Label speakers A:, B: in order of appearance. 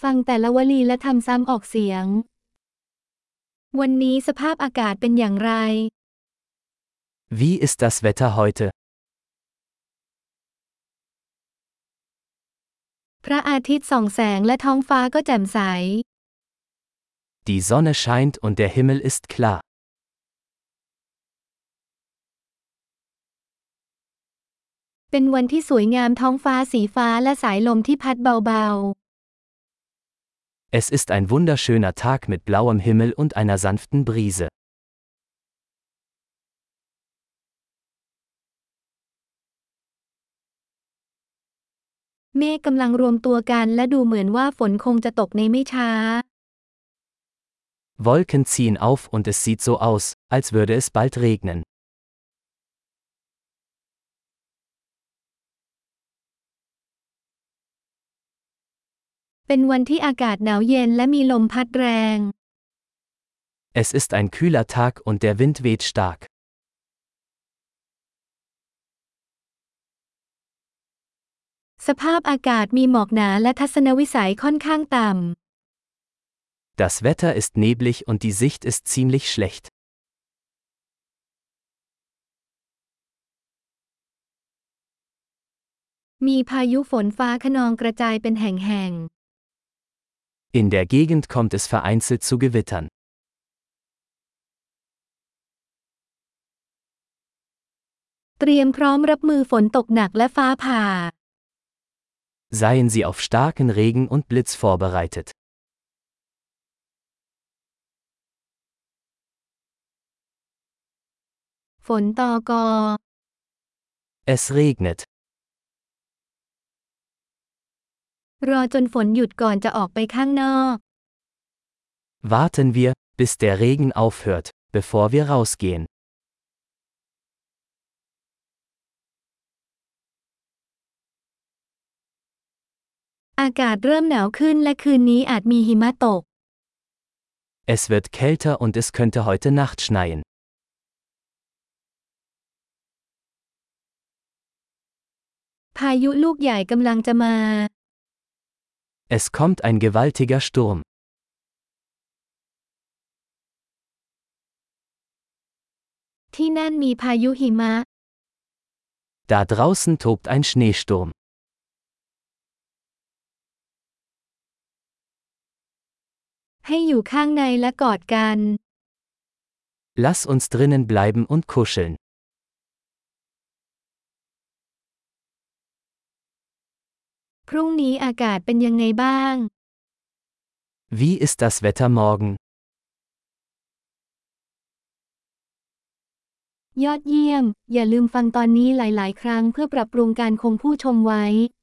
A: ฟังแต่ละวลีและทำซ้ำออกเสียงวันนี้สภาพอากาศเป็นอย่างไร
B: Wie ist das Wetter heute?
A: พระอาทิตย์ส่องแสงและท้องฟ้าก็แจ่มใส
B: Die Sonne scheint und der Himmel ist klar.
A: เป็นวันที่สวยงามท้องฟ้าสีฟ้าและสายลมที่พัดเบา
B: Es ist ein wunderschöner Tag mit blauem Himmel und einer sanften Brise.
A: ๆ เมฆกำลังรวมตัวกันและดูเหมือนว่าฝนคงจะตกในไม่ช้า
B: Wolken ziehen auf und es sieht so aus, als würde es bald regnen.
A: เป็นวันที่อากาศหนาวเย็นและมีลมพัดแรง
B: Es ist ein kühler Tag und der Wind weht stark.
A: สภาพอากาศมีหมอกหนาและทัศนวิสัยค่อนข้างต่ำ
B: Das Wetter ist neblig und die Sicht ist ziemlich schlecht.
A: มีพายุฝนฟ้าคะนองกระจายเป็นแห่ง
B: In der Gegend kommt es vereinzelt zu Gewittern.
A: ๆ เตรียมพร้อมรับมือฝนตกหนักและฟ้าผ่า
B: Seien Sie auf starken Regen und Blitz vorbereitet.
A: ฝนตก
B: Es regnet.
A: รอจนฝนหยุดก่อนจะออกไปข้างนอก
B: Warten wir, bis der Regen aufhört, bevor wir rausgehen.
A: อากาศเริ่มหนาวขึ้นและคืนนี้อาจมีหิมะตก
B: Es wird kälter und es könnte heute Nacht schneien.
A: พายุลูกใหญ่กำลังจะมา
B: Es kommt ein gewaltiger Sturm.
A: ที่นั่นมีพายุหิมะ
B: Da draußen tobt ein Schneesturm.
A: ให้อยู่ข้างในและกอดกัน
B: Lass uns drinnen bleiben und kuscheln.
A: พรุ่งนี้อากาศเป็นยังไงบ้าง
B: Wie ist das Wetter morgen?
A: ยอดเยี่ยม อย่าลืมฟังตอนนี้หลายๆ ครั้งเพื่อปรับปรุงการคงผู้ชมไว้